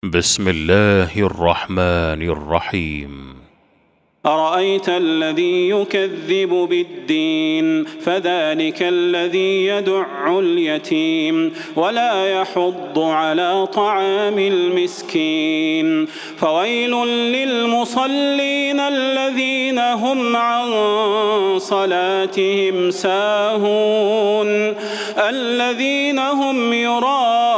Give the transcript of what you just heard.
بسم الله الرحمن الرحيم. أرأيت الذي يكذب بالدين فذلك الذي يدع اليتيم ولا يحض على طعام المسكين فويل للمصلين الذين هم عن صلاتهم ساهون الذين هم يراءون